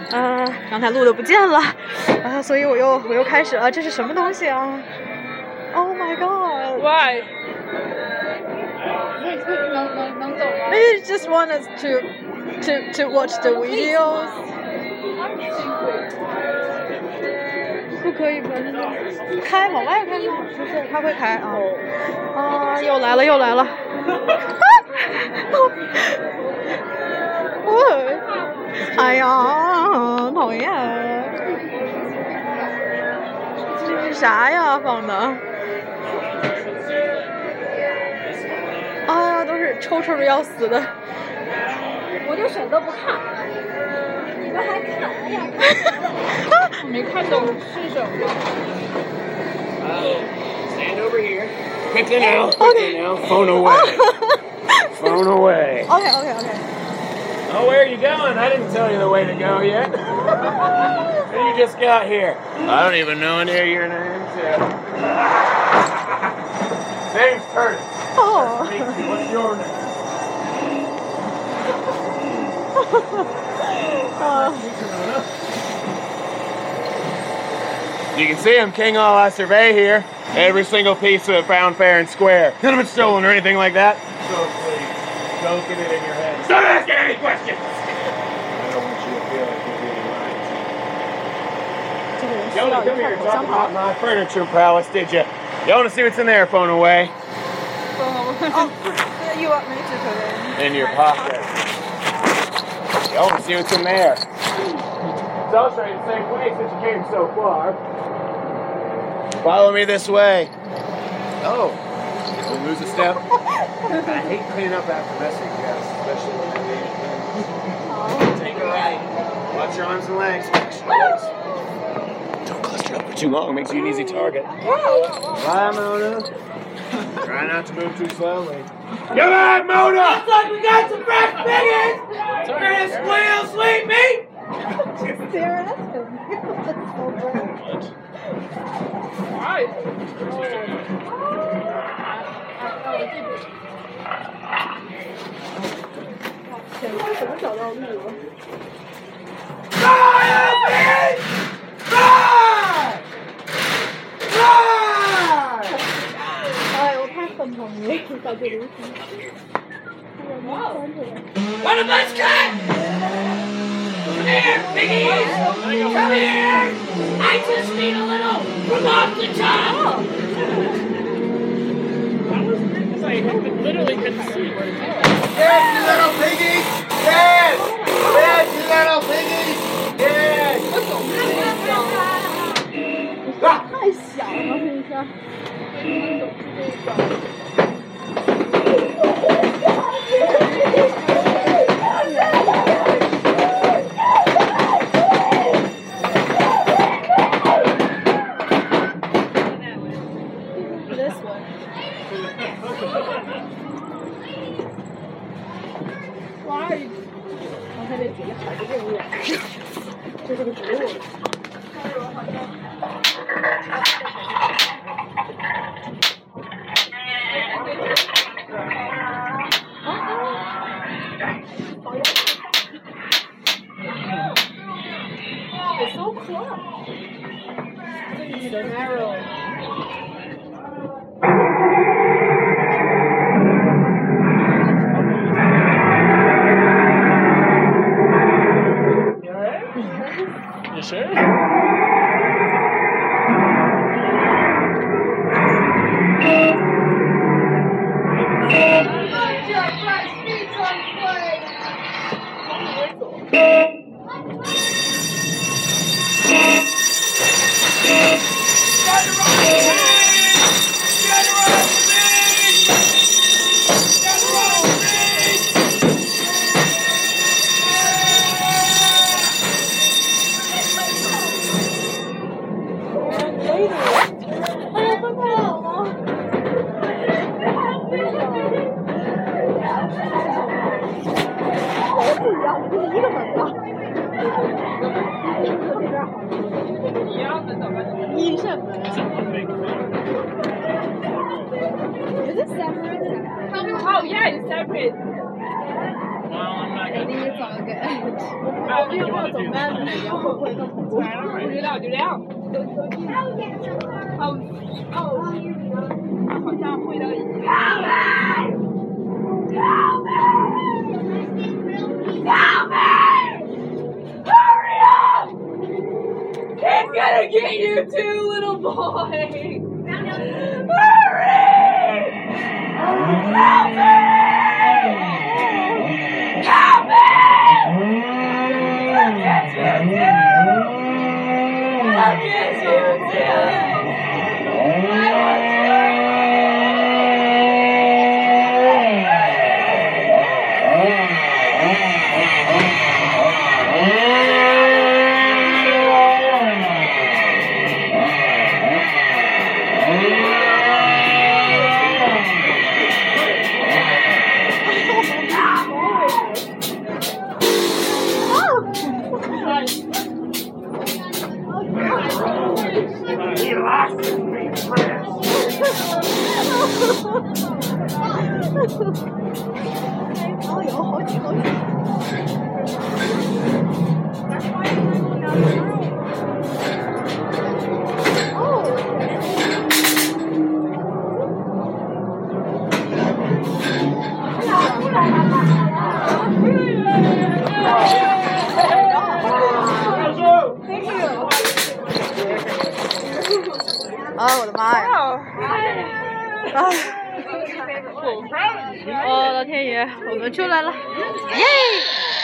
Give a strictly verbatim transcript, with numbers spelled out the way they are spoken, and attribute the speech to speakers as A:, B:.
A: 呃，刚才录的不见了，啊、呃，所以我又我又开始了。这是什么东西啊 ？Oh my god!
B: Why?
A: Maybe just want us to to to watch the videos. 不可以吧？开往外开吗？不是，它会开啊。啊，又来了又来了。哎呀，讨厌！这是啥呀？放的？哎呀，都是抽抽的要死的。
C: 我就选择不看。你们还看？哎呀，
B: 我没看懂是什么。
D: Stand over here. Quickly now. Quickly now. Phone away. Phone away.
A: Okay, okay, okay.
D: Oh, where are you going? I didn't tell you the way to go yet. You just got here. I don't even know any of your names yet. Name's Curtis.
A: Oh.
D: What's your name?
A: uh.
D: You can see I'm king all I survey here. Every single piece of it found fair and square. None of it's stolen or anything like that. So please, don't get it in your head. Stop asking any questions! I don't want you to feel like you're being lied to. Yona, come here and talk about my furniture prowess, did you? You want to see what's in there, phone away?
A: Oh, you want me to put it in?
D: In your pocket. You want to see what's in there? So I'll show you the same place since you came so far. Follow me this way. Oh, don't lose a step. I hate cleaning up after messy guests, especially when they leave. Take a right. Watch your arms and legs. Watch your legs. Don't cluster up for too long. Makes you an easy target. Bye, Mona. Try not to move too slowly. Come on, Mona! Looks like we got some fresh figures! Curtis, squeal, sweet meat!
C: Stare at him. That's so great.
B: Why?
D: One of us cut! Come here, piggies! Come here! I just need a little from off the top!
B: That was weird because I literally couldn't see where to go.
D: Yes, you little piggies! Yes! Yes, you little piggies! Yes!
C: 太小了，这一下。
A: This one.
C: Why? 我还得自己喊这个，这是个植物。It's so close. It's so narrow.
B: You sure? Oh yeah, it's separate. Well, I'm not gonna.
C: Maybe it's all good. 我们要不要走慢的？然后会不会更恐怖？
B: 不知道，就这样。
C: 哦哦，好像会到一起。
E: Hurry up! He's gonna get you too, little boy! Hurry! Help me! Help me! I'll get you too! I'll get you too! I want you!
A: 啊，我的妈呀！啊！我的天爷，我们出来了，耶！